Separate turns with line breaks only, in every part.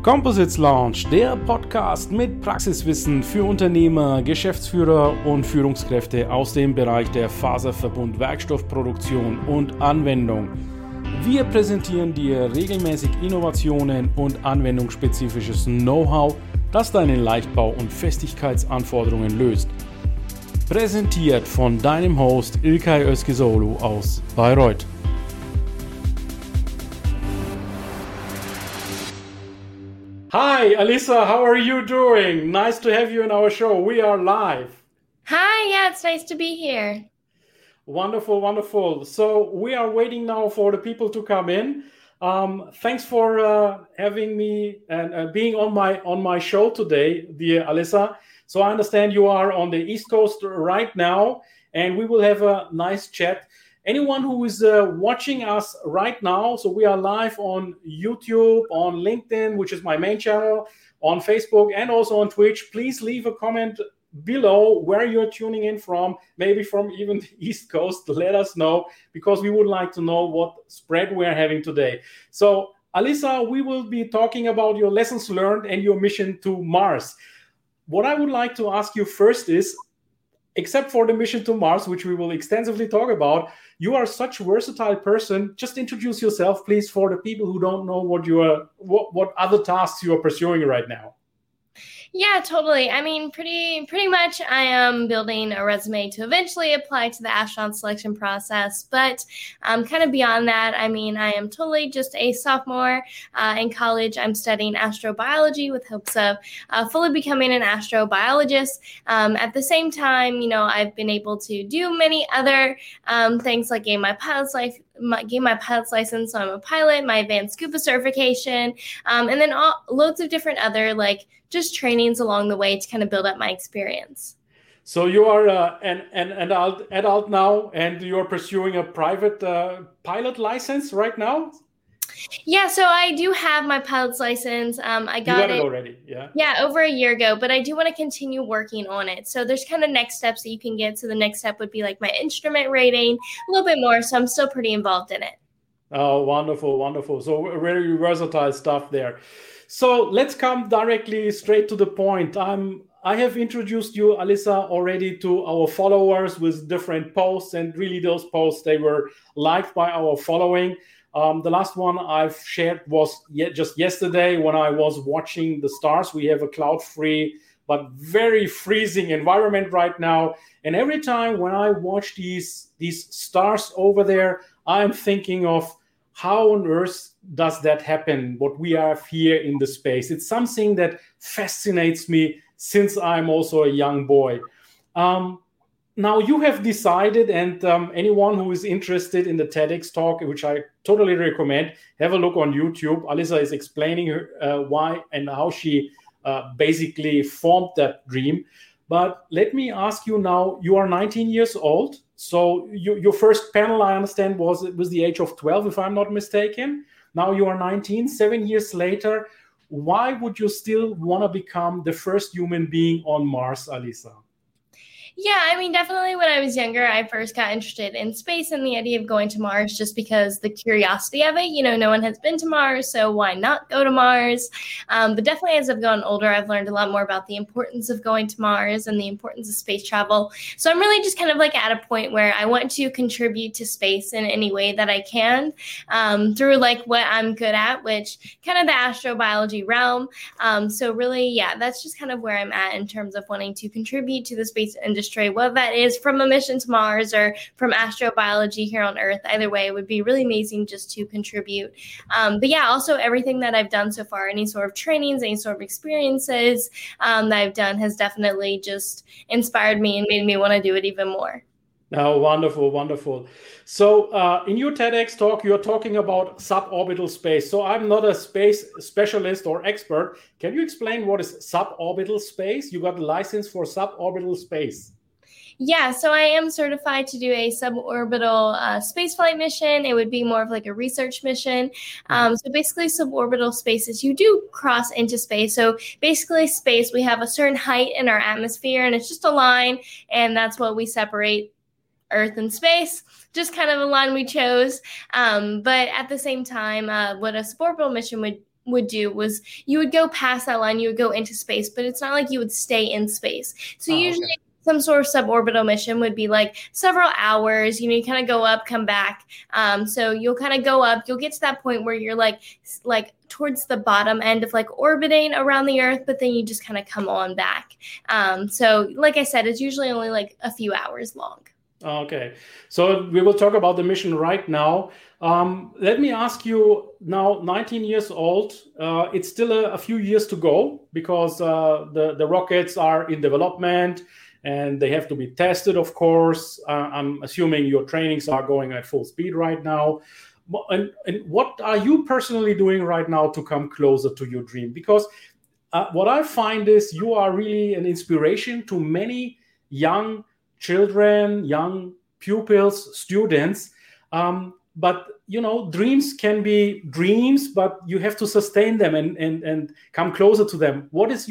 Composites Lounge, der Podcast mit Praxiswissen für Unternehmer, Geschäftsführer und Führungskräfte aus dem Bereich der Faserverbund, Werkstoffproduktion und Anwendung. Wir präsentieren dir regelmäßig Innovationen und anwendungsspezifisches Know-how, das deine Leichtbau- und Festigkeitsanforderungen löst. Präsentiert von deinem Host İlkay Özkizoğlu aus Bayreuth. Hi, Alisa, how are you doing? Nice to have you in our show. We are live.
Hi, yeah, it's nice to be here.
Wonderful, wonderful. So we are waiting now for the people to come in. Thanks for having me and being on my show today, dear Alisa. So I understand you are on the East Coast right now, and we will have a nice chat. Anyone who is watching us right now, so we are live on YouTube, on LinkedIn, which is my main channel, on Facebook, and also on Twitch. Please leave a comment below where you're tuning in from, maybe from even the East Coast. Let us know, because we would like to know what spread we're having today. So, Alisa, we will be talking about your lessons learned and your mission to Mars. What I would like to ask you first is, except for the mission to Mars, which we will extensively talk about, you are such a versatile person. Just introduce yourself, please, for the people who don't know what other tasks you are pursuing right now.
Yeah, totally. I mean, pretty much I am building a resume to eventually apply to the astronaut selection process. But kind of beyond that, I mean, I am totally just a sophomore in college. I'm studying astrobiology with hopes of fully becoming an astrobiologist. At the same time, you know, I've been able to do many other things like gain my pilot's license, so I'm a pilot, my advanced scuba certification, and then loads of different other like just trainings along the way to kind of build up my experience.
So you are an adult now, and you are pursuing a private pilot license right now?
Yeah, so I do have my pilot's license. I got
it already, yeah?
Yeah, over a year ago, but I do want to continue working on it. So there's kind of next steps that you can get. So the next step would be like my instrument rating, a little bit more. So I'm still pretty involved in it.
Oh, wonderful, wonderful. So very versatile stuff there. So let's come directly straight to the point. I have introduced you, Alisa, already to our followers with different posts, and really those posts, they were liked by our following. The last one I've shared was just yesterday when I was watching the stars. We have a cloud-free but very freezing environment right now. And every time when I watch these stars over there, I'm thinking of how on earth does that happen, what we have here in the space. It's something that fascinates me since I'm also a young boy. Now you have decided, and anyone who is interested in the TEDx talk, which I totally recommend, have a look on YouTube. Alisa is explaining why and how she basically formed that dream. But let me ask you now, you are 19 years old. So your first panel, I understand, was the age of 12, if I'm not mistaken. Now you are 19, 7 years later. Why would you still want to become the first human being on Mars, Alisa?
Yeah, I mean, definitely when I was younger, I first got interested in space and the idea of going to Mars just because the curiosity of it. You know, no one has been to Mars, so why not go to Mars? But definitely as I've gotten older, I've learned a lot more about the importance of going to Mars and the importance of space travel. So I'm really just kind of like at a point where I want to contribute to space in any way that I can through like what I'm good at, which kind of the astrobiology realm. So really, yeah, that's just kind of where I'm at in terms of wanting to contribute to the space industry. Whether that is from a mission to Mars or from astrobiology here on Earth, either way, it would be really amazing just to contribute. But yeah, also everything that I've done so far, any sort of trainings, any sort of experiences that I've done has definitely just inspired me and made me want to do it even more.
Oh, wonderful, wonderful. So in your TEDx talk, you're talking about suborbital space. So I'm not a space specialist or expert. Can you explain what is suborbital space? You got a license for suborbital space.
Yeah, so I am certified to do a suborbital spaceflight mission. It would be more of like a research mission. So basically suborbital spaces, you do cross into space. So basically space, we have a certain height in our atmosphere and it's just a line, and that's what we separate Earth and space. Just kind of a line we chose. But at the same time, what a suborbital mission would would do was you would go past that line, you would go into space, but it's not like you would stay in space. So usually some sort of suborbital mission would be like several hours, you kind of go up, come back. So you'll kind of go up, you'll get to that point where you're like towards the bottom end of like orbiting around the Earth, but then you just kind of come on back. So like I said, it's usually only like a few hours long.
Okay, so we will talk about the mission right now. Let me ask you now, 19 years old, it's still a few years to go because the rockets are in development and they have to be tested, of course. I'm assuming your trainings are going at full speed right now. And what are you personally doing right now to come closer to your dream? Because what I find is you are really an inspiration to many young children, young pupils, students. But, dreams can be dreams, but you have to sustain them and come closer to them. What is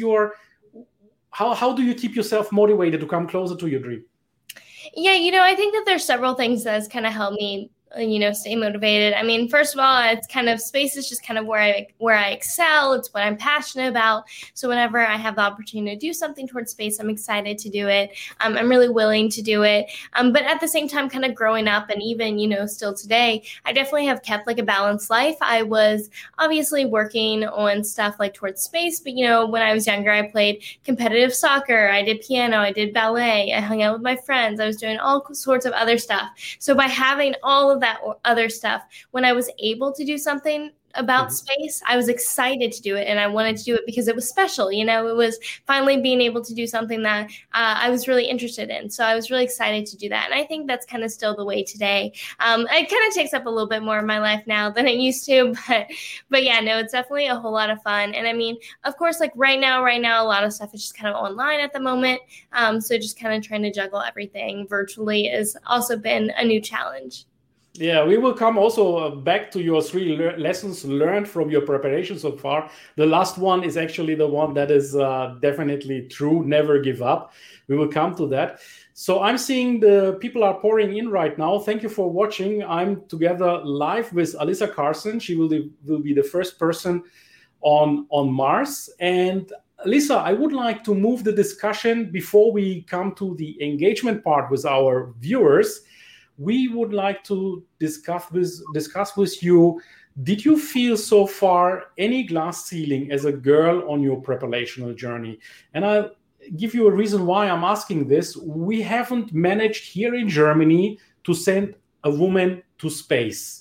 how do you keep yourself motivated to come closer to your dream?
Yeah, I think that there's several things that's kind of helped me stay motivated. I mean, first of all, it's kind of space is just kind of where I excel. It's what I'm passionate about. So whenever I have the opportunity to do something towards space, I'm excited to do it. I'm really willing to do it. But at the same time, kind of growing up and even, still today, I definitely have kept like a balanced life. I was obviously working on stuff like towards space, but when I was younger, I played competitive soccer. I did piano. I did ballet. I hung out with my friends. I was doing all sorts of other stuff. So by having all of that other stuff, when I was able to do something about space, I was excited to do it, and I wanted to do it because it was special. It was finally being able to do something that I was really interested in. So I was really excited to do that, and I think that's kind of still the way today. It kind of takes up a little bit more of my life now than it used to, but yeah, no, it's definitely a whole lot of fun. And I mean, of course, like right now, a lot of stuff is just kind of online at the moment. So just kind of trying to juggle everything virtually has also been a new challenge.
Yeah, we will come also back to your 3 lessons learned from your preparation so far. The last one is actually the one that is definitely true. Never give up. We will come to that. So I'm seeing the people are pouring in right now. Thank you for watching. I'm together live with Alyssa Carson. She will be the first person on Mars. And Alyssa, I would like to move the discussion before we come to the engagement part with our viewers. We would like to discuss with you, did you feel so far any glass ceiling as a girl on your preparational journey? And I'll give you a reason why I'm asking this. We haven't managed here in Germany to send a woman to space.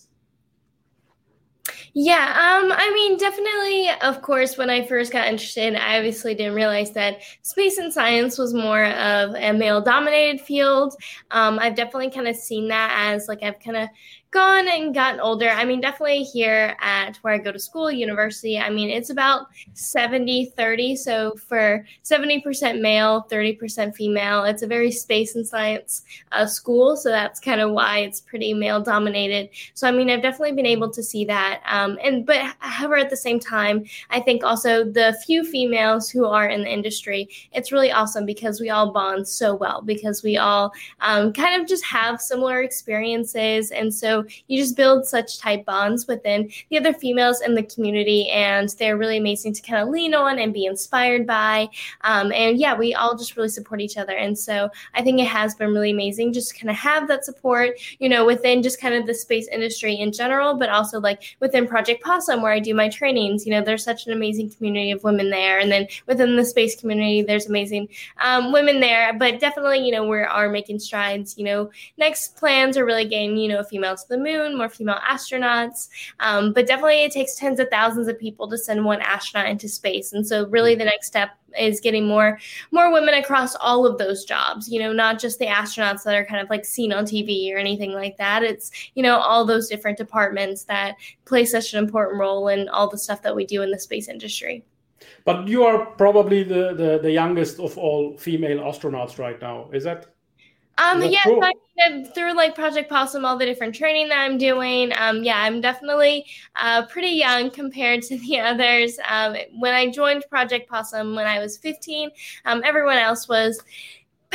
Yeah, I mean, definitely, of course, when I first got interested, I obviously didn't realize that space and science was more of a male-dominated field. I've definitely kind of seen that as, like, I've kind of gone and gotten older. I mean, definitely here at where I go to school, university, I mean, it's about 70-30. So for 70% male, 30% female, it's a very space and science school. So that's kind of why it's pretty male dominated. So, I mean, I've definitely been able to see that. But however, at the same time, I think also the few females who are in the industry, it's really awesome because we all bond so well, because we all kind of just have similar experiences. And so you just build such tight bonds within the other females in the community, and they're really amazing to kind of lean on and be inspired by. And yeah, we all just really support each other. And so I think it has been really amazing just to kind of have that support, within just kind of the space industry in general, but also like within Project Possum, where I do my trainings. There's such an amazing community of women there. And then within the space community, there's amazing women there. But definitely, we are making strides. Next plans are really getting, female to the moon, more female astronauts. But definitely it takes tens of thousands of people to send one astronaut into space. And so really the next step is getting more women across all of those jobs, not just the astronauts that are kind of like seen on TV or anything like that. It's, all those different departments that play such an important role in all the stuff that we do in the space industry.
But you are probably the youngest of all female astronauts right now. Is that?
Yeah, through like Project Possum, all the different training that I'm doing. Yeah, I'm definitely pretty young compared to the others. When I joined Project Possum when I was 15, everyone else was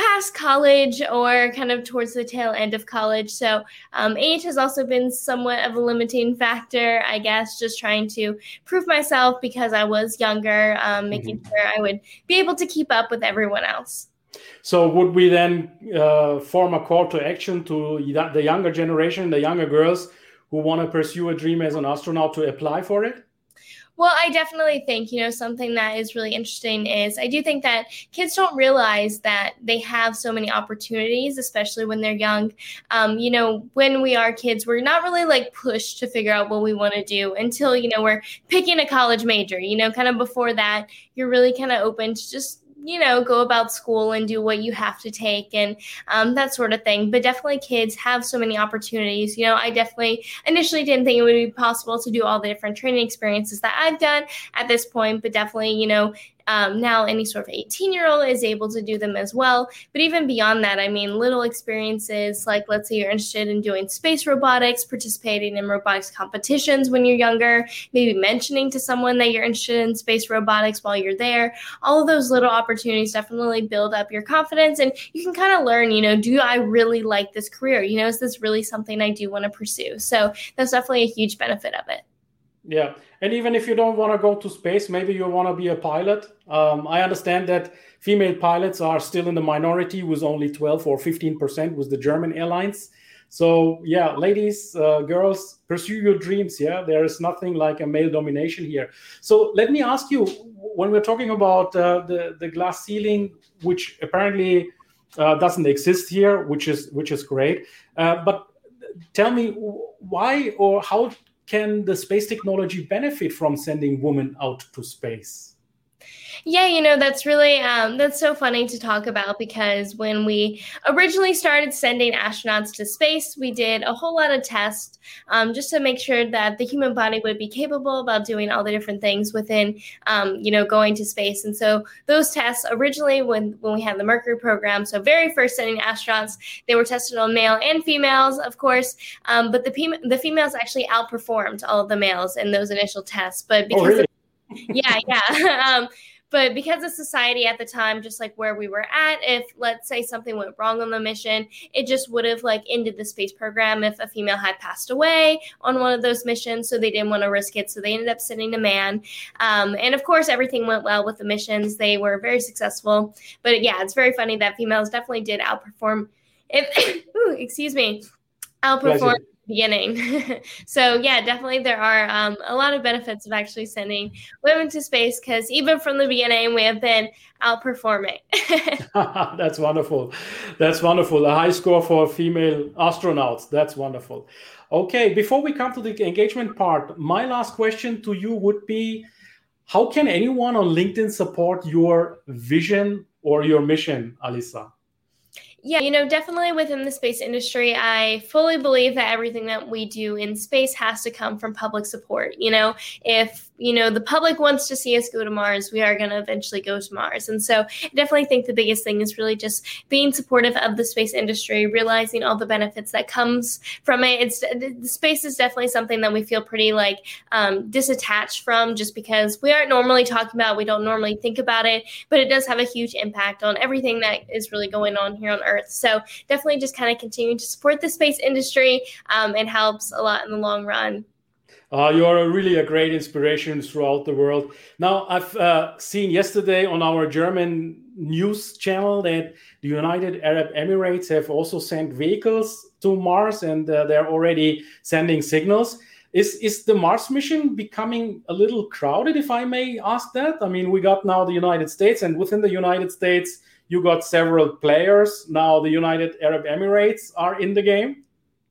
past college or kind of towards the tail end of college. So age has also been somewhat of a limiting factor, I guess, just trying to prove myself because I was younger, making sure I would be able to keep up with everyone else.
So would we then form a call to action to the younger generation, the younger girls who want to pursue a dream as an astronaut to apply for it?
Well, I definitely think, something that is really interesting is I do think that kids don't realize that they have so many opportunities, especially when they're young. When we are kids, we're not really like pushed to figure out what we want to do until, we're picking a college major, kind of before that, you're really kind of open to just go about school and do what you have to take and that sort of thing. But definitely kids have so many opportunities. I definitely initially didn't think it would be possible to do all the different training experiences that I've done at this point, but definitely, now any sort of 18-year-old is able to do them as well. But even beyond that, I mean, little experiences like, let's say you're interested in doing space robotics, participating in robotics competitions when you're younger, maybe mentioning to someone that you're interested in space robotics while you're there. All of those little opportunities definitely build up your confidence, and you can kind of learn, do I really like this career? Is this really something I do want to pursue? So that's definitely a huge benefit of it.
Yeah. And even if you don't want to go to space, maybe you want to be a pilot. I understand that female pilots are still in the minority with only 12 or 15% with the German airlines. So yeah, ladies, girls, pursue your dreams. Yeah, there is nothing like a male domination here. So let me ask you, when we're talking about the glass ceiling, which apparently doesn't exist here, which is great. But tell me why or how can the space technology benefit from sending women out to space?
Yeah, that's really, that's so funny to talk about because when we originally started sending astronauts to space, we did a whole lot of tests just to make sure that the human body would be capable about doing all the different things within, going to space. And so those tests originally when we had the Mercury program, so very first sending astronauts, they were tested on male and females, of course, but the females actually outperformed all of the males in those initial tests. But because But because of society at the time, just like where we were at, if let's say something went wrong on the mission, it just would have ended the space program if a female had passed away on one of those missions. So they didn't want to risk it. So they ended up sending a man. And of course, everything went well with the missions. They were very successful. But yeah, it's very funny that females definitely did outperform. Outperform. Beginning. So yeah, definitely there are a lot of benefits of actually sending women to space because even from the beginning we have been outperforming.
That's wonderful. That's wonderful. A high score for female astronauts. That's wonderful. Okay, before we come to the engagement part, my last question to you would be, how can anyone on LinkedIn support your vision or your mission, Alyssa?
Yeah, definitely within the space industry, I fully believe that everything that we do in space has to come from public support. If, the public wants to see us go to Mars, we are going to eventually go to Mars. And so I definitely think the biggest thing is really just being supportive of the space industry, realizing all the benefits that comes from it. The space is definitely something that we feel pretty disattached from just because we aren't normally talking about, we don't normally think about it, but it does have a huge impact on everything that is really going on here on Earth. So definitely just kind of continuing to support the space industry. It helps a lot in the long run.
You're really a great inspiration throughout the world. Now, I've seen yesterday on our German news channel that the United Arab Emirates have also sent vehicles to Mars, and they're already sending signals. Is the Mars mission becoming a little crowded, if I may ask that? I mean, we got now the United States, and within the United States, you got several players. Now the United Arab Emirates are in the game.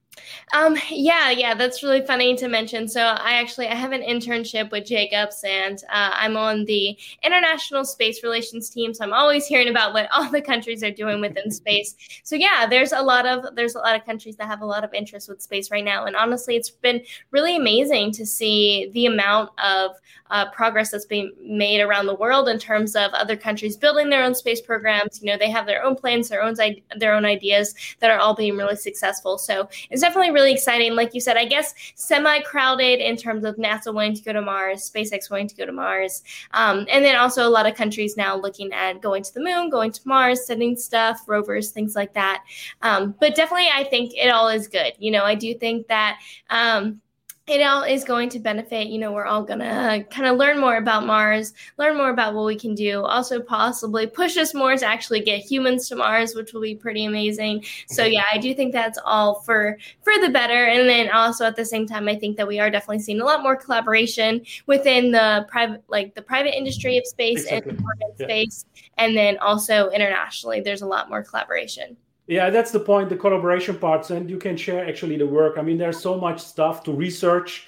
Yeah, that's really funny to mention. So I have an internship with Jacobs, and I'm on the International Space Relations team. So I'm always hearing about what all the countries are doing within space. So yeah, there's a lot of countries that have a lot of interest with space right now. And honestly, it's been really amazing to see the amount of progress that's being made around the world in terms of other countries building their own space programs. They have their own plans, their own ideas that are all being really successful. So it's it's definitely really exciting. Like you said, I guess semi-crowded in terms of NASA wanting to go to Mars, SpaceX wanting to go to Mars. And then also a lot of countries now looking at going to the moon, going to Mars, sending stuff, rovers, things like that. But definitely, I think it all is good. I do think that it all is going to benefit. We're all going to kind of learn more about Mars, learn more about what we can do, also possibly push us more to actually get humans to Mars, which will be pretty amazing. So yeah, I do think that's all for the better. And then also at the same time, I think that we are definitely seeing a lot more collaboration within the private industry of space and government space. And then also internationally, there's a lot more collaboration.
Yeah, that's the point, the collaboration parts, and you can share actually the work. I mean, there's so much stuff to research.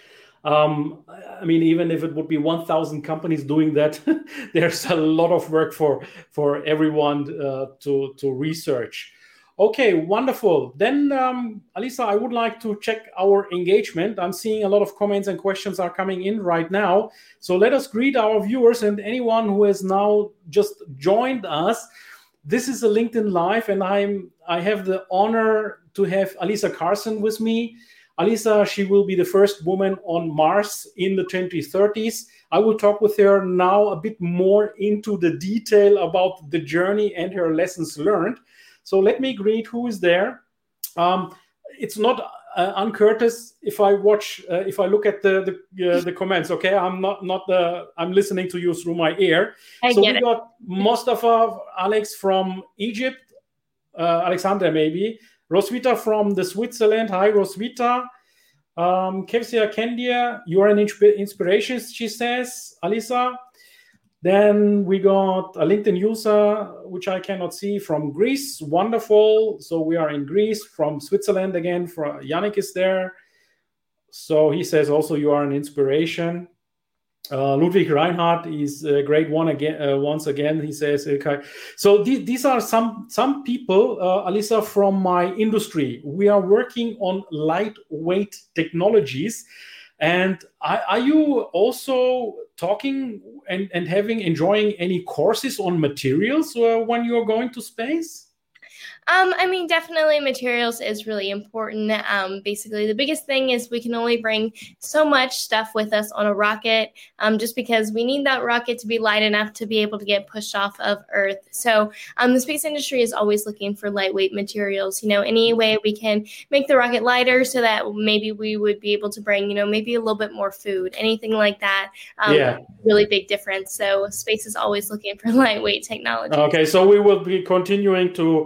I mean, even if it would be 1,000 companies doing that, there's a lot of work for everyone to research. Okay, wonderful. Then, Alisa, I would like to check our engagement. I'm seeing a lot of comments and questions are coming in right now. So let us greet our viewers and anyone who has now just joined us. This is a LinkedIn Live, and I have the honor to have Alisa Carson with me. Alisa, she will be the first woman on Mars in the 2030s. I will talk with her now a bit more into the detail about the journey and her lessons learned. So let me greet who is there. It's not uncourteous if I look at the comments. Okay, I'm listening to you through my ear. We got Mustafa Alex from Egypt, Alexander maybe, Roswitha from the Switzerland. Hi, Roswitha. Kevsia Kendia, you are an inspiration, she says. Alisa. Then we got a LinkedIn user, which I cannot see, from Greece. Wonderful. So we are in Greece. From Switzerland again, Yannick is there. So he says also you are an inspiration. Ludwig Reinhardt is a great one again. Once again, he says, okay. So these are some people, Alisa, from my industry. We are working on lightweight technologies. And are you also talking and enjoying any courses on materials when you're going to space?
I mean, definitely materials is really important. Basically, the biggest thing is we can only bring so much stuff with us on a rocket, just because we need that rocket to be light enough to be able to get pushed off of Earth. So the space industry is always looking for lightweight materials. Any way we can make the rocket lighter so that maybe we would be able to bring, maybe a little bit more food, anything like that. Really big difference. So space is always looking for lightweight technology.
Okay, so we will be continuing to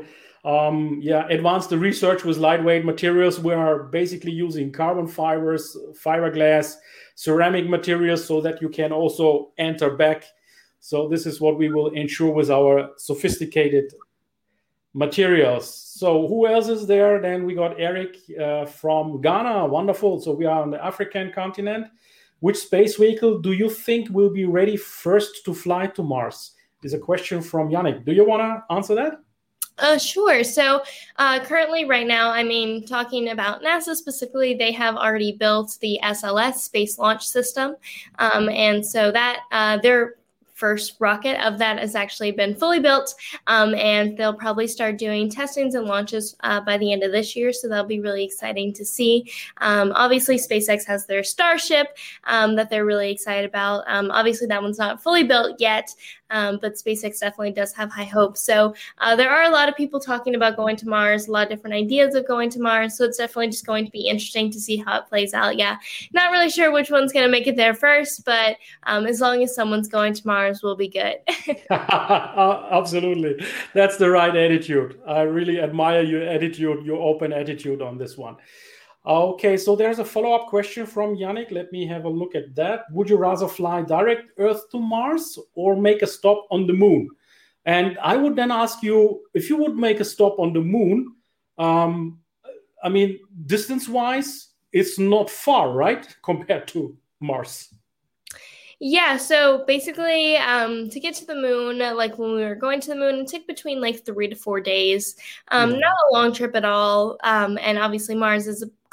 advance the research with lightweight materials. We are basically using carbon fibers, fiberglass, ceramic materials so that you can also enter back. So this is what we will ensure with our sophisticated materials. So who else is there? Then we got Eric from Ghana. Wonderful. So we are on the African continent. Which space vehicle do you think will be ready first to fly to Mars? Is a question from Yannick. Do you want to answer that?
Sure. So currently right now, I mean, talking about NASA specifically, they have already built the SLS Space Launch System. And so that their first rocket of that has actually been fully built, and they'll probably start doing testings and launches by the end of this year. So that'll be really exciting to see. Obviously, SpaceX has their Starship that they're really excited about. Obviously, that one's not fully built yet, but SpaceX definitely does have high hopes. So there are a lot of people talking about going to Mars, a lot of different ideas of going to Mars. So it's definitely just going to be interesting to see how it plays out. Yeah, not really sure which one's going to make it there first, but as long as someone's going to Mars, will be good.
Absolutely. That's the right attitude. I really admire your attitude, your open attitude on this one. Okay, so there's a follow-up question from Yannick. Let me have a look at that. Would you rather fly direct Earth to Mars or make a stop on the moon? And I would then ask you, if you would make a stop on the moon, I mean, distance-wise, it's not far, right, compared to Mars?
Yeah, so basically, to get to the moon, like when we were going to the moon, it took between like 3 to 4 days. Not a long trip at all. And obviously, Mars is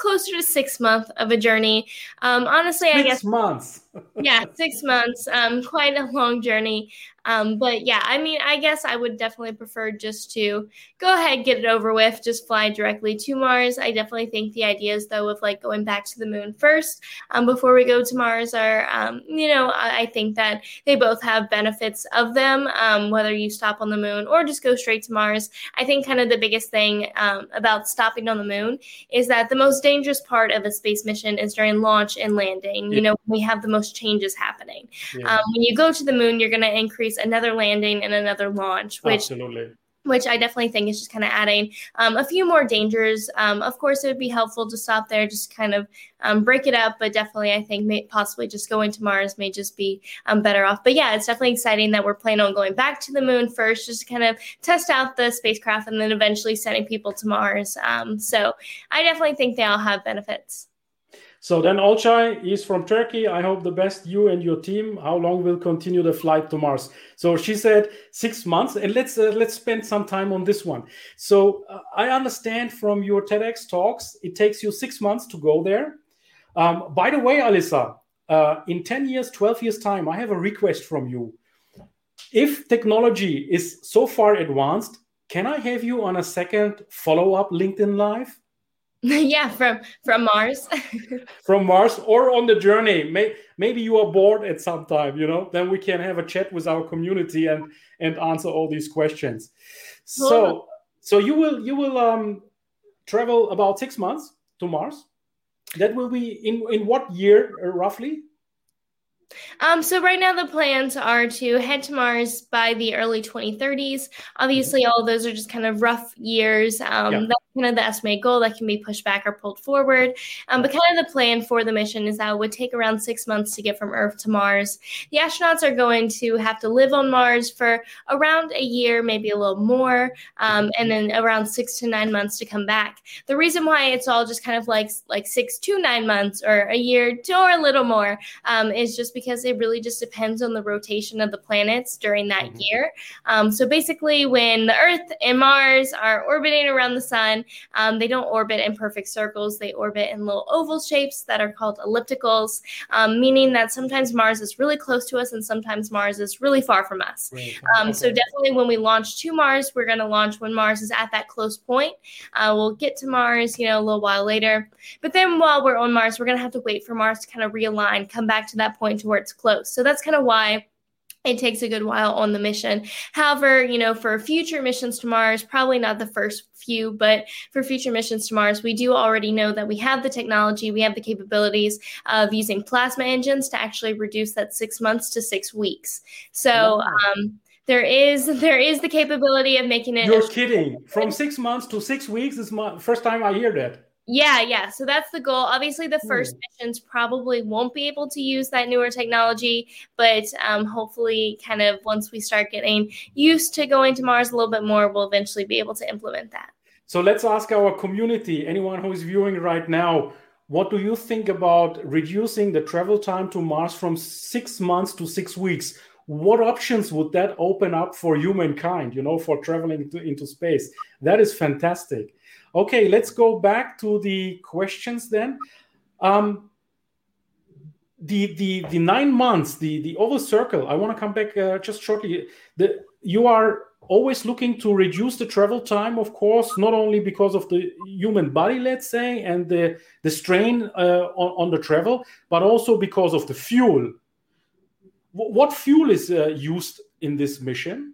closer to 6 months of a journey. Honestly, I guess
6 months.
Yeah, 6 months. Quite a long journey. But yeah, I mean, I guess I would definitely prefer just to go ahead, get it over with, just fly directly to Mars. I definitely think the ideas, though, of like going back to the moon first before we go to Mars are, I think that they both have benefits of them, whether you stop on the moon or just go straight to Mars. I think kind of the biggest thing about stopping on the moon is that the most dangerous part of a space mission is during launch and landing.
Yeah.
We have the most changes happening.
Yeah.
When you go to the moon, you're going to increase another landing and another launch, which I definitely think is just kind of adding a few more dangers. Of course, it would be helpful to stop there, just kind of break it up. But definitely, I think possibly just going to Mars may just be better off. But yeah, it's definitely exciting that we're planning on going back to the moon first, just to kind of test out the spacecraft and then eventually sending people to Mars. So I definitely think they all have benefits.
So then Olcay is from Turkey. I hope the best, you and your team. How long will continue the flight to Mars? So she said 6 months, and let's spend some time on this one. So I understand from your TEDx talks, it takes you 6 months to go there. By the way, Alyssa, in 10 years, 12 years time, I have a request from you. If technology is so far advanced, can I have you on a second follow-up LinkedIn Live?
Yeah, from Mars.
From Mars or on the journey. Maybe you are bored at some time, then we can have a chat with our community and answer all these questions. So you will travel about 6 months to Mars. That will be in what year roughly?
So right now the plans are to head to Mars by the early 2030s. Obviously, all of those are just kind of rough years. That's kind of the estimated goal that can be pushed back or pulled forward. But kind of the plan for the mission is that it would take around 6 months to get from Earth to Mars. The astronauts are going to have to live on Mars for around a year, maybe a little more, and then around 6 to 9 months to come back. The reason why it's all just kind of like 6 to 9 months or a year or a little more is just because it really just depends on the rotation of the planets during that year. So basically, when the Earth and Mars are orbiting around the sun, they don't orbit in perfect circles. They orbit in little oval shapes that are called ellipticals, meaning that sometimes Mars is really close to us and sometimes Mars is really far from us. So definitely when we launch to Mars, we're going to launch when Mars is at that close point. We'll get to Mars, a little while later. But then while we're on Mars, we're going to have to wait for Mars to kind of realign, come back to that point to where it's close. So that's kind of why it takes a good while on the mission. However, for future missions to Mars, probably not the first few, but for future missions to Mars, we do already know that we have the technology, we have the capabilities of using plasma engines to actually reduce that 6 months to 6 weeks. So there is the capability of making it.
You're kidding. From 6 months to 6 weeks is my first time I hear that.
Yeah. So that's the goal. Obviously, the first missions probably won't be able to use that newer technology, but hopefully kind of once we start getting used to going to Mars a little bit more, we'll eventually be able to implement that.
So let's ask our community, anyone who is viewing right now, what do you think about reducing the travel time to Mars from 6 months to 6 weeks? What options would that open up for humankind, for traveling into space? That is fantastic. Okay, let's go back to the questions then. The 9 months, the oval circle, I want to come back just shortly. You are always looking to reduce the travel time, of course, not only because of the human body, let's say, and the strain on the travel, but also because of the fuel. What fuel is used in this mission?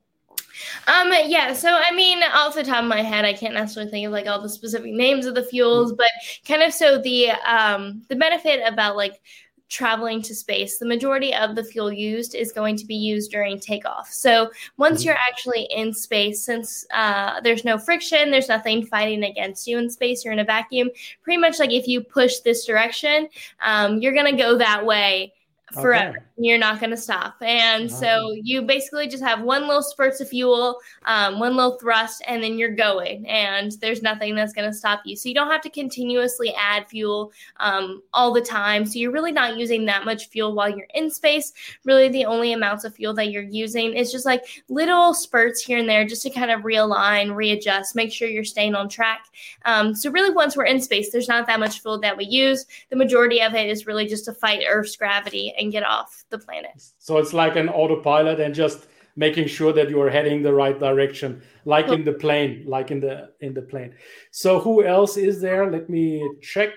So I mean, off the top of my head, I can't necessarily think of like all the specific names of the fuels, but kind of so the benefit about like traveling to space, the majority of the fuel used is going to be used during takeoff. So once you're actually in space, since there's no friction, there's nothing fighting against you in space, you're in a vacuum. Pretty much like if you push this direction, you're going to go that way forever.
Okay.
You're not going to stop. And so you basically just have one little spurt of fuel, one little thrust, and then you're going. And there's nothing that's going to stop you. So you don't have to continuously add fuel all the time. So you're really not using that much fuel while you're in space. Really, the only amounts of fuel that you're using is just like little spurts here and there just to kind of realign, readjust, make sure you're staying on track. So really, once we're in space, there's not that much fuel that we use. The majority of it is really just to fight Earth's gravity and get off the planet.
So it's like an autopilot and just making sure that you are heading the right direction, like in the plane, plane. So who else is there? Let me check.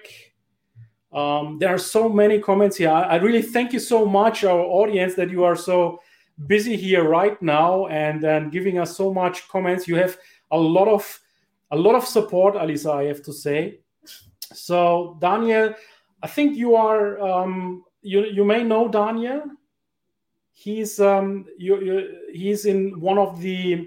There are so many comments here. I really thank you so much, our audience, that you are so busy here right now and giving us so much comments. You have a lot of support, Alisa, I have to say. So Daniel, I think you are you may know Daniel. He's he's in one of he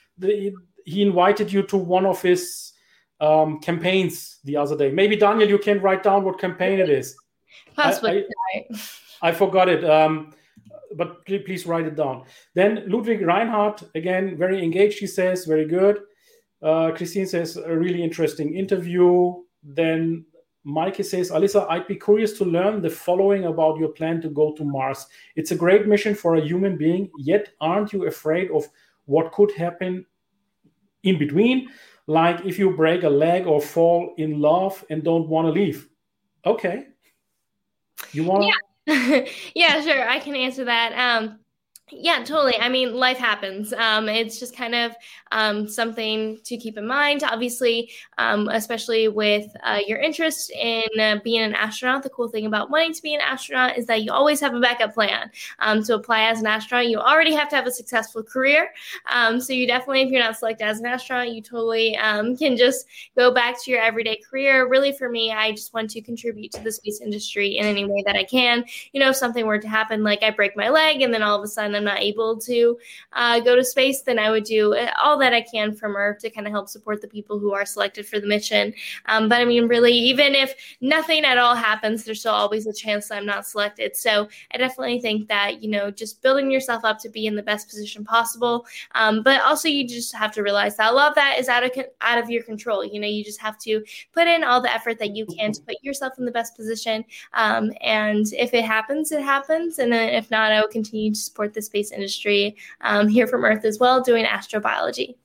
invited you to one of his campaigns the other day. Maybe Daniel, you can write down what campaign it is.
Possibly.
I forgot it, but please write it down. Then Ludwig Reinhardt, again, very engaged, he says, very good. Christine says, a really interesting interview. Then Mikey says, Alisa, I'd be curious to learn the following about your plan to go to Mars. It's a great mission for a human being, yet aren't you afraid of what could happen in between? Like if you break a leg or fall in love and don't want to leave. Okay. You want
to? Yeah, sure. I can answer that. Yeah, totally. I mean, life happens. It's just kind of something to keep in mind. Obviously, especially with your interest in being an astronaut, the cool thing about wanting to be an astronaut is that you always have a backup plan. To apply as an astronaut, you already have to have a successful career. So you definitely, if you're not selected as an astronaut, you totally can just go back to your everyday career. Really, for me, I just want to contribute to the space industry in any way that I can. You know, if something were to happen, like I break my leg and then all of a sudden I'm not able to go to space, then I would do all that I can from Earth to kind of help support the people who are selected for the mission. But I mean, really, even if nothing at all happens, there's still always a chance that I'm not selected. So I definitely think that, you know, just building yourself up to be in the best position possible. But also you just have to realize that a lot of that is out of your control. You know, you just have to put in all the effort that you can to put yourself in the best position. And if it happens, it happens. And then if not, I will continue to support the space industry here from Earth as well, doing astrobiology.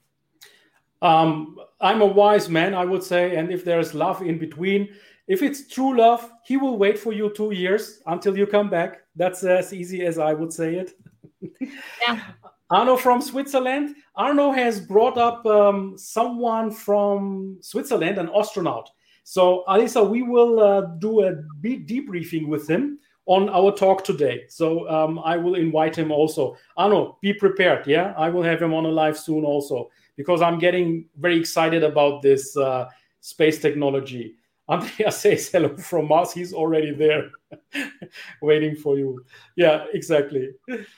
I'm a wise man, I would say, and if there's love in between, if it's true love, he will wait for you 2 years until you come back. That's as easy as I would say it.
Yeah.
Arno from Switzerland. Arno has brought up someone from Switzerland, an astronaut. So, Alisa, we will do a debriefing with him on our talk today. So I will invite him also. Arno, be prepared, yeah? I will have him on a live soon also, because I'm getting very excited about this space technology. Andrea says hello from Mars. He's already there waiting for you. Yeah, exactly.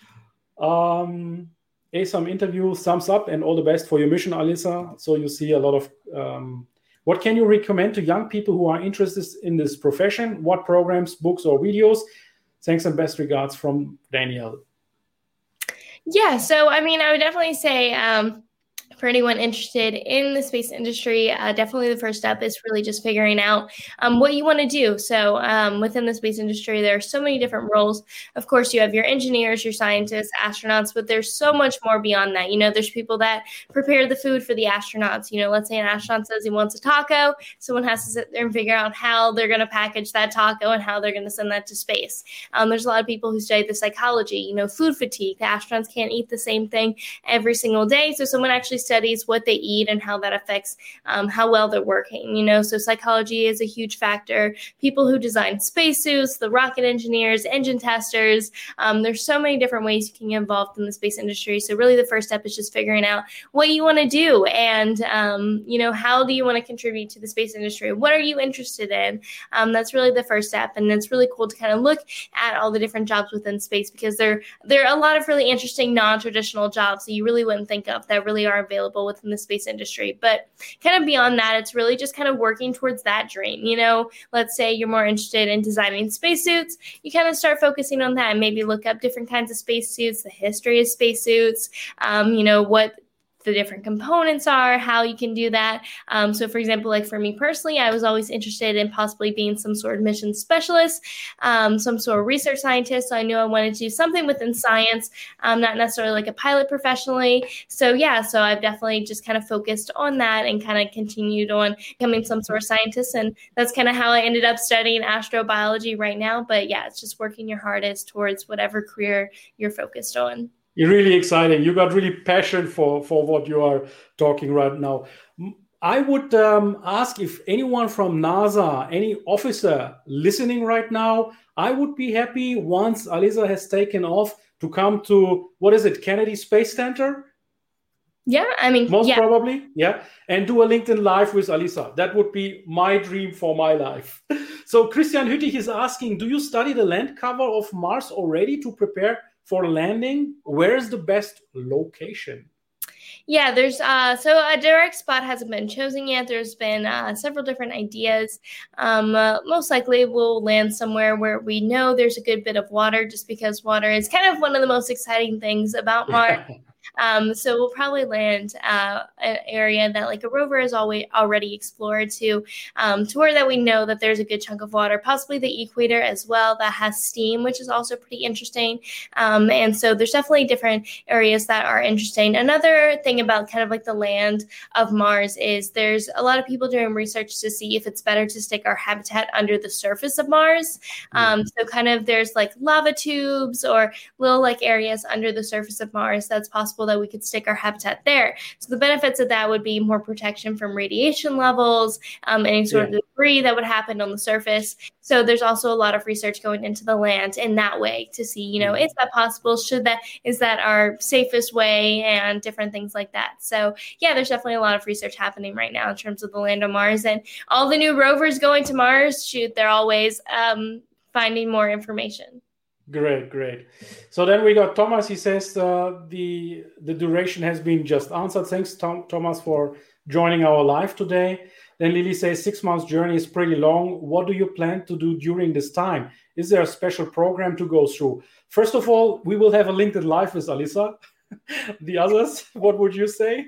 Some interview, thumbs up, and all the best for your mission, Alisa. So you see a lot of... what can you recommend to young people who are interested in this profession? What programs, books, or videos? Thanks and best regards from Daniel.
Yeah, so I mean, I would definitely say for anyone interested in the space industry, definitely the first step is really just figuring out what you want to do. So within the space industry, there are so many different roles. Of course, you have your engineers, your scientists, astronauts, but there's so much more beyond that. You know, there's people that prepare the food for the astronauts. You know, let's say an astronaut says he wants a taco. Someone has to sit there and figure out how they're going to package that taco and how they're going to send that to space. There's a lot of people who study the psychology, you know, food fatigue. The astronauts can't eat the same thing every single day. So someone actually studies what they eat and how that affects how well they're working, you know, so psychology is a huge factor. People who design spacesuits, the rocket engineers, engine testers, there's so many different ways you can get involved in the space industry. So really the first step is just figuring out what you want to do and, you know, how do you want to contribute to the space industry? What are you interested in? That's really the first step. And it's really cool to kind of look at all the different jobs within space because there are a lot of really interesting non-traditional jobs that you really wouldn't think of that really are available within the space industry. But kind of beyond that, it's really just kind of working towards that dream. Let's say you're more interested in designing spacesuits, you kind of start focusing on that and maybe look up different kinds of spacesuits, the history of spacesuits, what the different components are, how you can do that. So for example, like for me personally, I was always interested in possibly being some sort of mission specialist, some sort of research scientist. So I knew I wanted to do something within science, not necessarily like a pilot professionally. So I've definitely just kind of focused on that and kind of continued on becoming some sort of scientist. And that's kind of how I ended up studying astrobiology right now. But yeah, it's just working your hardest towards whatever career you're focused on.
You're really exciting. You got really passion for what you are talking right now. I would ask if anyone from NASA, any officer listening right now, I would be happy once Alisa has taken off to come to, Kennedy Space Center?
Yeah, I mean,
most probably, yeah, and do a LinkedIn Live with Alisa. That would be my dream for my life. So Christian Hüttich is asking, do you study the land cover of Mars already to prepare for landing? Where is the best location?
Yeah, there's so a direct spot hasn't been chosen yet. There's been several different ideas. Most likely we'll land somewhere where we know there's a good bit of water, just because water is kind of one of the most exciting things about Mars. So we'll probably land an area that like a rover has already explored to where that we know that there's a good chunk of water, possibly the equator as well, that has steam, which is also pretty interesting. And so there's definitely different areas that are interesting. Another thing about kind of like the land of Mars is there's a lot of people doing research to see if it's better to stick our habitat under the surface of Mars. So kind of there's like lava tubes or little like areas under the surface of Mars that's possible that we could stick our habitat there. So the benefits of that would be more protection from radiation levels, any sort of debris that would happen on the surface. So there's also a lot of research going into the land in that way to see, is that possible? Is that our safest way, and different things like that. So yeah, there's definitely a lot of research happening right now in terms of the land on Mars, and all the new rovers going to Mars, they're always finding more information.
Great. So then we got Thomas. He says the duration has been just answered. Thanks, Thomas, for joining our live today. Then Lily says 6 months journey is pretty long. What do you plan to do during this time? Is there a special program to go through? First of all, we will have a LinkedIn Live with Alisa. The others, what would you say?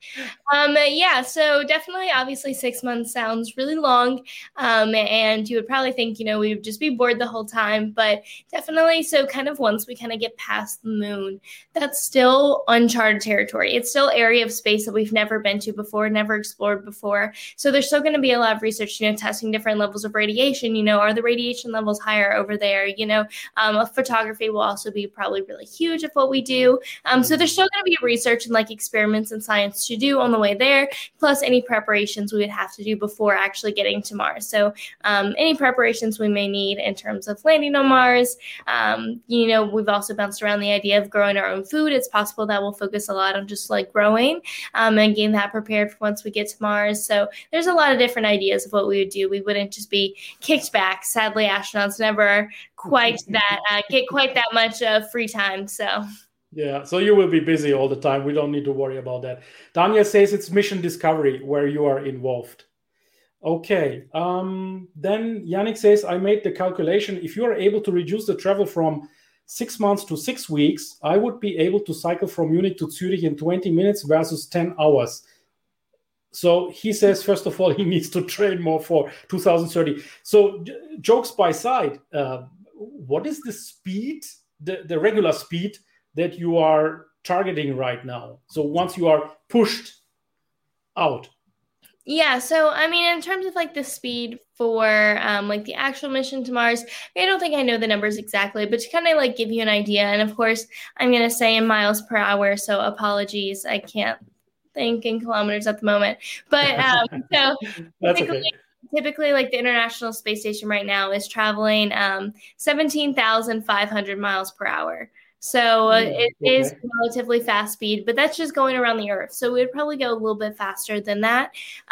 So definitely, obviously 6 months sounds really long. And you would probably think, we would just be bored the whole time, but definitely. So kind of once we kind of get past the moon, that's still uncharted territory. It's still area of space that we've never been to before, never explored before. So there's still going to be a lot of research, testing different levels of radiation, are the radiation levels higher over there? Photography will also be probably really huge of what we do. So there's still going to be research and like experiments in science to do on the way there, plus any preparations we would have to do before actually getting to Mars. So any preparations we may need in terms of landing on Mars. We've also bounced around the idea of growing our own food. It's possible that we'll focus a lot on just like growing and getting that prepared for once we get to Mars. So there's a lot of different ideas of what we would do. We wouldn't just be kicked back. Sadly, astronauts never quite get quite that much free time. So.
Yeah, so you will be busy all the time. We don't need to worry about that. Daniel says it's mission discovery where you are involved. Okay. Then Yannick says, I made the calculation. If you are able to reduce the travel from 6 months to 6 weeks, I would be able to cycle from Munich to Zurich in 20 minutes versus 10 hours. So he says, first of all, he needs to train more for 2030. So jokes by side, what is the speed, the regular speed that you are targeting right now? So once you are pushed out.
Yeah, so I mean, in terms of like the speed for like the actual mission to Mars, I don't think I know the numbers exactly, but to kind of like give you an idea. And of course, I'm going to say in miles per hour, so apologies, I can't think in kilometers at the moment. But so
that's okay.
Typically, like the International Space Station right now is traveling 17,500 miles per hour. So it is
Okay.
relatively fast speed, but that's just going around the Earth. So we'd probably go a little bit faster than that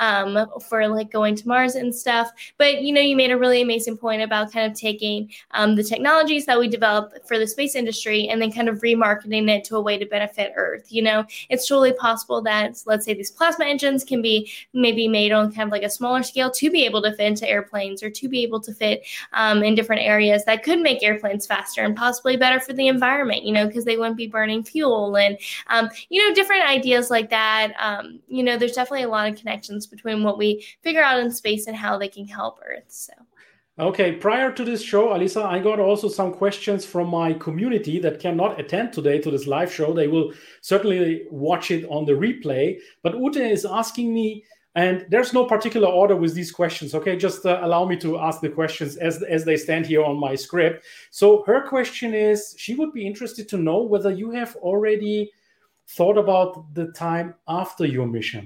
for like going to Mars and stuff. But you made a really amazing point about kind of taking the technologies that we develop for the space industry and then kind of remarketing it to a way to benefit Earth. It's totally possible that, let's say, these plasma engines can be maybe made on kind of like a smaller scale to be able to fit into airplanes or to be able to fit in different areas that could make airplanes faster and possibly better for the environment. Because they wouldn't be burning fuel and, different ideas like that. There's definitely a lot of connections between what we figure out in space and how they can help Earth. So.
Okay, prior to this show, Alisa, I got also some questions from my community that cannot attend today to this live show. They will certainly watch it on the replay. But Ute is asking me, and there's no particular order with these questions, okay? Just allow me to ask the questions as they stand here on my script. So her question is, she would be interested to know whether you have already thought about the time after your mission.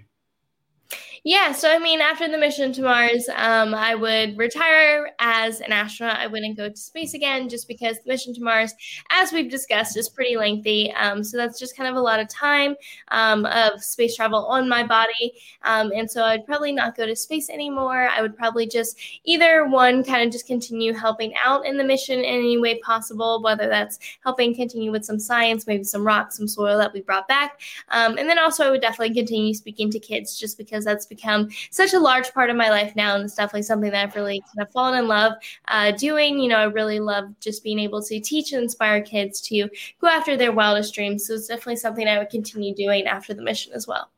Yeah, so after the mission to Mars, I would retire as an astronaut. I wouldn't go to space again just because the mission to Mars, as we've discussed, is pretty lengthy. So that's just kind of a lot of time of space travel on my body. And so I'd probably not go to space anymore. I would probably just either one, kind of just continue helping out in the mission in any way possible, whether that's helping continue with some science, maybe some rocks, some soil that we brought back. And then also I would definitely continue speaking to kids just because that's become such a large part of my life now, and it's definitely something that I've really kind of fallen in love doing. I really love just being able to teach and inspire kids to go after their wildest dreams. So it's definitely something I would continue doing after the mission as well.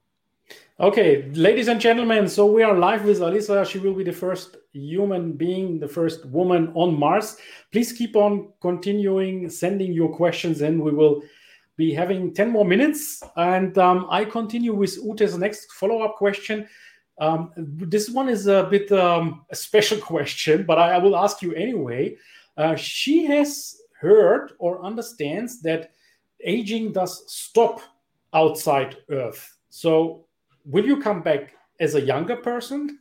Okay, ladies and gentlemen, so we are live with Alisa. She will be the first human being, the first woman on Mars. Please keep on continuing sending your questions in. We will be having 10 more minutes. And I continue with Ute's next follow-up question. This one is a bit a special question, but I will ask you anyway. She has heard or understands that aging does stop outside Earth. So will you come back as a younger person?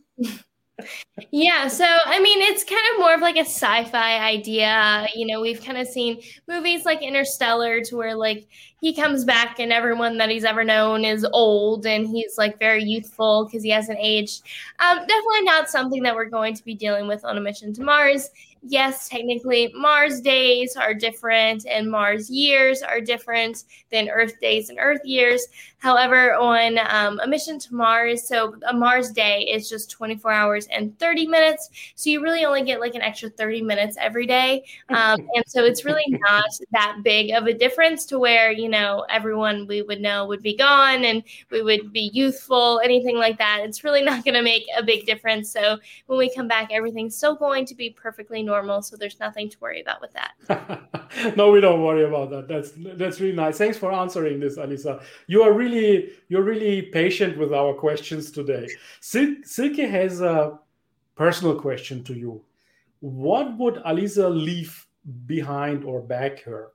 Yeah, so it's kind of more of like a sci-fi idea. We've kind of seen movies like Interstellar to where like he comes back and everyone that he's ever known is old and he's like very youthful because he hasn't aged. Definitely not something that we're going to be dealing with on a mission to Mars. Yes, technically Mars days are different and Mars years are different than Earth days and Earth years. However, on a mission to Mars, so a Mars day is just 24 hours and 30 minutes. So you really only get like an extra 30 minutes every day. And so it's really not that big of a difference to where, everyone we would know would be gone and we would be youthful, anything like that. It's really not going to make a big difference. So when we come back, everything's still going to be perfectly normal. So there's nothing to worry about with that.
No, we don't worry about that. That's really nice. Thanks for answering this, Alisa. You're really patient with our questions today. Silke has a personal question to you. What would Alisa leave behind or back her?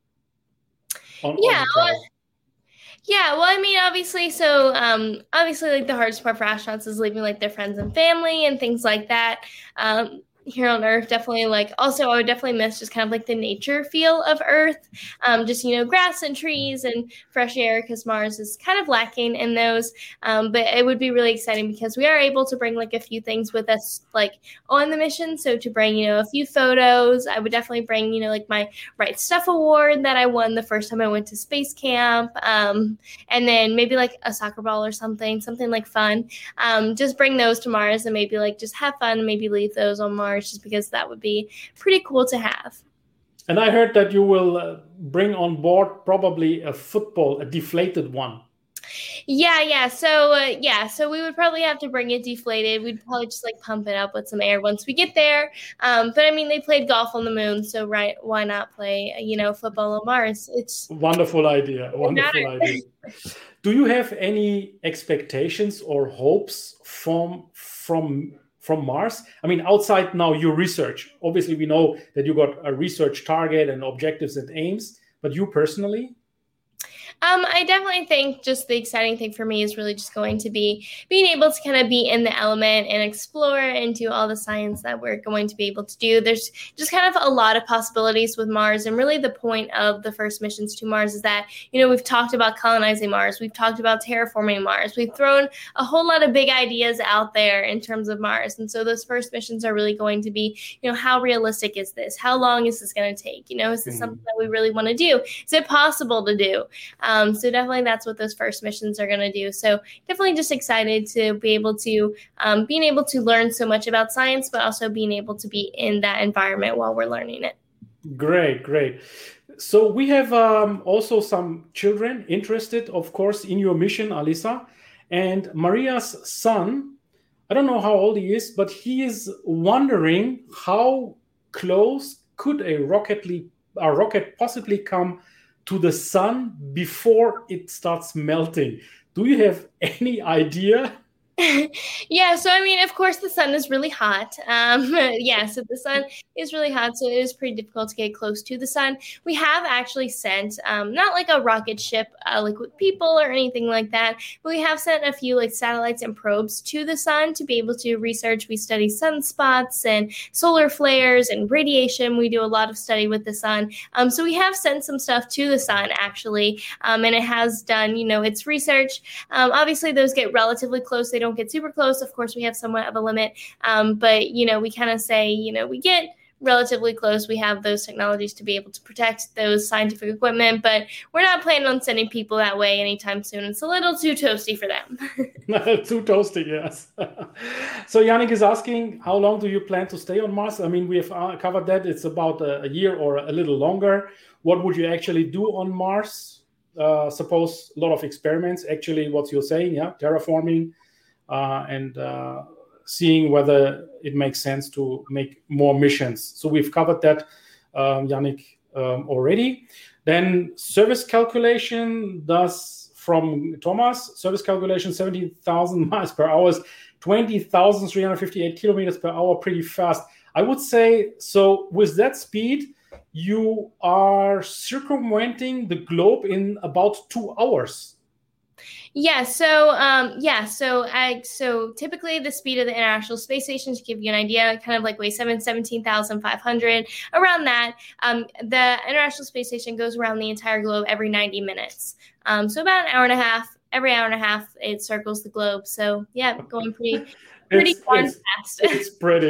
Yeah, well, obviously, so obviously, like the hardest part for astronauts is leaving like their friends and family and things like that. Here on Earth, definitely also I would definitely miss just kind of like the nature feel of Earth, just grass and trees and fresh air, because Mars is kind of lacking in those. But it would be really exciting because we are able to bring like a few things with us like on the mission. So to bring a few photos, I would definitely bring like my Right Stuff award that I won the first time I went to space camp, and then maybe like a soccer ball or something like fun. Just bring those to Mars and maybe like just have fun and maybe leave those on Mars, just because that would be pretty cool to have.
And I heard that you will bring on board probably a football, a deflated one.
Yeah. So we would probably have to bring it deflated. We'd probably just like pump it up with some air once we get there. But they played golf on the moon, so why not play football on Mars? It's
wonderful idea. Wonderful idea. Do you have any expectations or hopes from Mars? Outside now your research. Obviously, we know that you got a research target and objectives and aims, but you personally?
I definitely think just the exciting thing for me is really just going to be being able to kind of be in the element and explore and do all the science that we're going to be able to do. There's just kind of a lot of possibilities with Mars. And really the point of the first missions to Mars is that, we've talked about colonizing Mars. We've talked about terraforming Mars. We've thrown a whole lot of big ideas out there in terms of Mars. And so those first missions are really going to be, how realistic is this? How long is this going to take? Is this something that we really want to do? Is it possible to do? So definitely that's what those first missions are going to do. So definitely just excited to be able to being able to learn so much about science, but also being able to be in that environment while we're learning it.
Great. So we have also some children interested, of course, in your mission, Alisa. And Maria's son, I don't know how old he is, but he is wondering how close could a rocket possibly come to the sun before it starts melting. Do you have any idea?
Yeah, so of course the sun is really hot. So the sun is really hot, so it is pretty difficult to get close to the sun. We have actually sent, not like a rocket ship, like with people or anything like that, but we have sent a few like satellites and probes to the sun to be able to research. We study sunspots and solar flares and radiation. We do a lot of study with the sun. So we have sent some stuff to the sun actually, and it has done, its research. Obviously those get relatively close. They don't get super close. Of course, we have somewhat of a limit, but we kind of say, we get relatively close. We have those technologies to be able to protect those scientific equipment, but we're not planning on sending people that way anytime soon. It's a little too toasty for them.
Too toasty, yes. So Yannick is asking, how long do you plan to stay on Mars? We have covered that. It's about a year or a little longer. What would you actually do on Mars? Suppose a lot of experiments, actually what you're saying, terraforming, and seeing whether it makes sense to make more missions. So we've covered that, Yannick, already. Then service calculation from Thomas, service calculation 70,000 miles per hour, 20,358 kilometers per hour, pretty fast. I would say, so with that speed, you are circumventing the globe in about 2 hours.
Yeah. So typically the speed of the International Space Station, to give you an idea, kind of like weighs 17,500, around that. The International Space Station goes around the entire globe every 90 minutes. So about an hour and a half. Every hour and a half, it circles the globe. So yeah, going pretty fast.
It's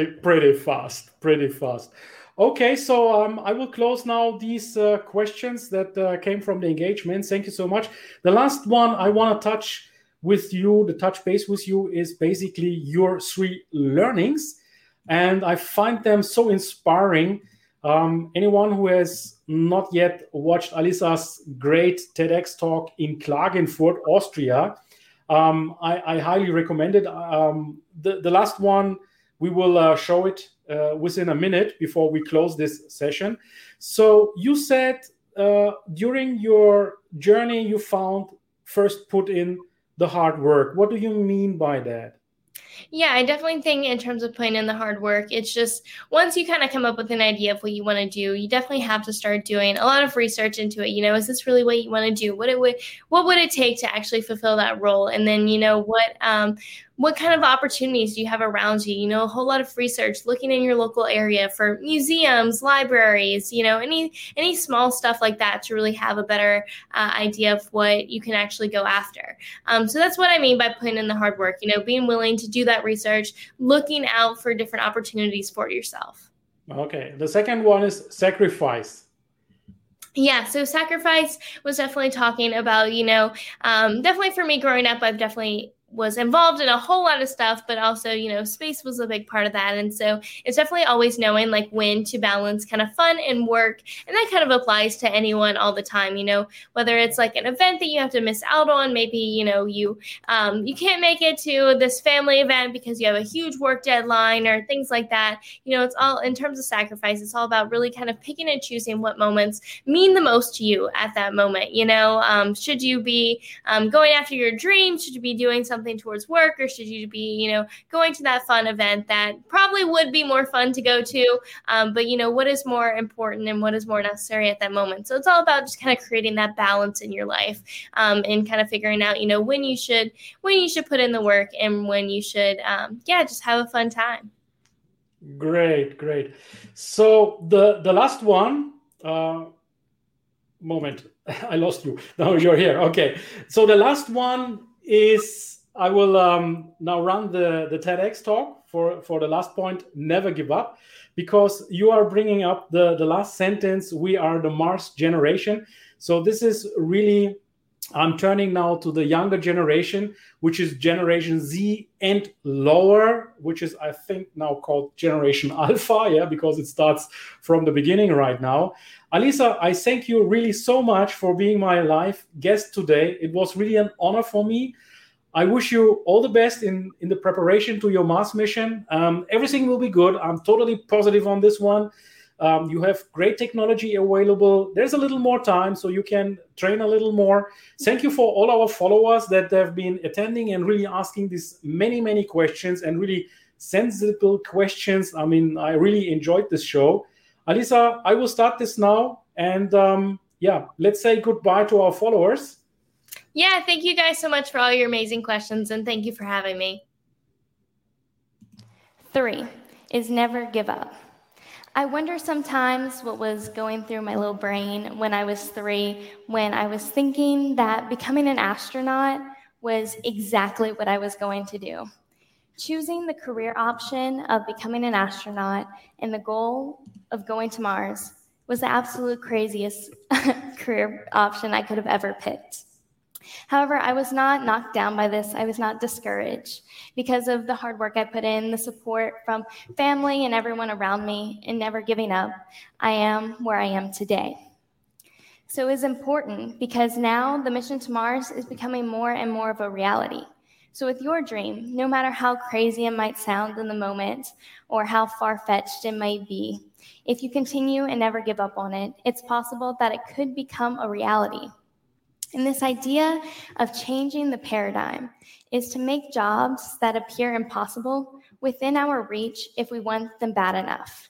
pretty fast. Okay, so I will close now these questions that came from the engagement. Thank you so much. The last one I want to touch base with you is basically your 3 learnings. And I find them so inspiring. Anyone who has not yet watched Alisa's great TEDx talk in Klagenfurt, Austria, I highly recommend it. The last one, we will show it within a minute before we close this session. So you said during your journey, you first put in the hard work. What do you mean by that?
Yeah, I definitely think in terms of putting in the hard work, it's just once you kind of come up with an idea of what you want to do, you definitely have to start doing a lot of research into it. Is this really what you want to do? What would it take to actually fulfill that role? And then, what kind of opportunities do you have around you? A whole lot of research, looking in your local area for museums, libraries, any small stuff like that to really have a better idea of what you can actually go after. So that's what I mean by putting in the hard work, being willing to do that research, looking out for different opportunities for yourself.
Okay. The second one is sacrifice.
Yeah, so sacrifice was definitely talking about, definitely for me growing up, I've definitely was involved in a whole lot of stuff, but also, space was a big part of that. And so it's definitely always knowing like when to balance kind of fun and work. And that kind of applies to anyone all the time, whether it's like an event that you have to miss out on, maybe, you can't make it to this family event because you have a huge work deadline or things like that. It's all in terms of sacrifice. It's all about really kind of picking and choosing what moments mean the most to you at that moment. Should you be going after your dream? Should you be doing something something towards work, or should you be, going to that fun event that probably would be more fun to go to, but what is more important and what is more necessary at that moment. So it's all about just kind of creating that balance in your life, and kind of figuring out, when you should put in the work and when you should, just have a fun time.
Great. So the last one, moment, I lost you. Now you're here. Okay. So the last one is, I will now run the TEDx talk for the last point, never give up, because you are bringing up the last sentence, we are the Mars generation. So this is really, I'm turning now to the younger generation, which is Generation Z and lower, which is, I think, now called Generation Alpha, because it starts from the beginning right now. Alisa, I thank you really so much for being my live guest today. It was really an honor for me. I wish you all the best in the preparation to your Mars mission. Everything will be good. I'm totally positive on this one. You have great technology available. There's a little more time, so you can train a little more. Thank you for all our followers that have been attending and really asking these many questions and really sensible questions. I mean, I really enjoyed this show. Alisa, I will start this now. And let's say goodbye to our followers.
Yeah, thank you guys so much for all your amazing questions, and thank you for having me. 3 is never give up. I wonder sometimes what was going through my little brain when I was 3, when I was thinking that becoming an astronaut was exactly what I was going to do. Choosing the career option of becoming an astronaut and the goal of going to Mars was the absolute craziest career option I could have ever picked. However, I was not knocked down by this. I was not discouraged because of the hard work I put in, the support from family and everyone around me, and never giving up. I am where I am today. So it is important because now the mission to Mars is becoming more and more of a reality. So with your dream, no matter how crazy it might sound in the moment or how far-fetched it might be, if you continue and never give up on it, it's possible that it could become a reality. And this idea of changing the paradigm is to make jobs that appear impossible within our reach if we want them bad enough.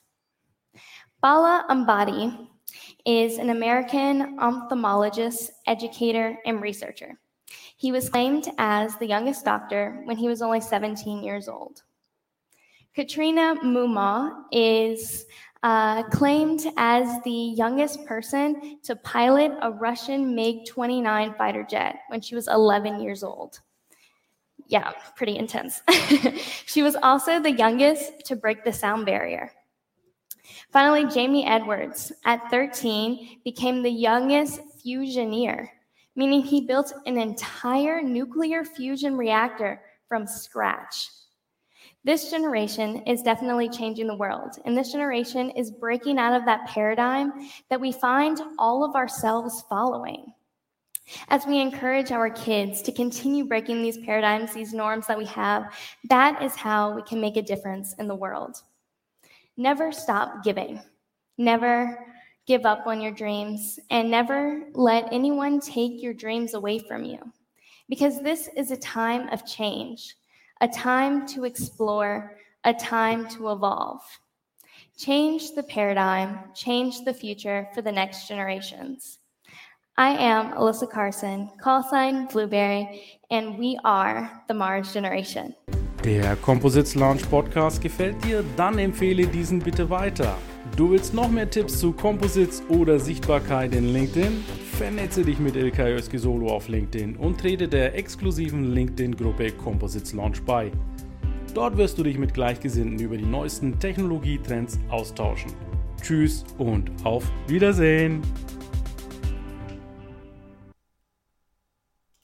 Bala Ambadi is an American ophthalmologist, educator, and researcher. He was claimed as the youngest doctor when he was only 17 years old. Katrina Mumma is claimed as the youngest person to pilot a Russian MiG-29 fighter jet when she was 11 years old. Yeah, pretty intense. She was also the youngest to break the sound barrier. Finally, Jamie Edwards, at 13, became the youngest fusioneer, meaning he built an entire nuclear fusion reactor from scratch. This generation is definitely changing the world, and this generation is breaking out of that paradigm that we find all of ourselves following. As we encourage our kids to continue breaking these paradigms, these norms that we have, that is how we can make a difference in the world. Never stop giving. Never give up on your dreams, and never let anyone take your dreams away from you, because this is a time of change. A time to explore, a time to evolve. Change the paradigm, change the future for the next generations. I am Alyssa Carson, callsign Blueberry, and we are the Mars Generation.
Der Composites Launch Podcast gefällt dir? Dann empfehle diesen bitte weiter. Du willst noch mehr Tipps zu Composites oder Sichtbarkeit in LinkedIn? Vernetze dich mit Ilkay Özki-Solo auf LinkedIn und trete der exklusiven LinkedIn-Gruppe Composites Launch bei. Dort wirst du dich mit Gleichgesinnten über die neuesten Technologietrends austauschen. Tschüss und auf Wiedersehen!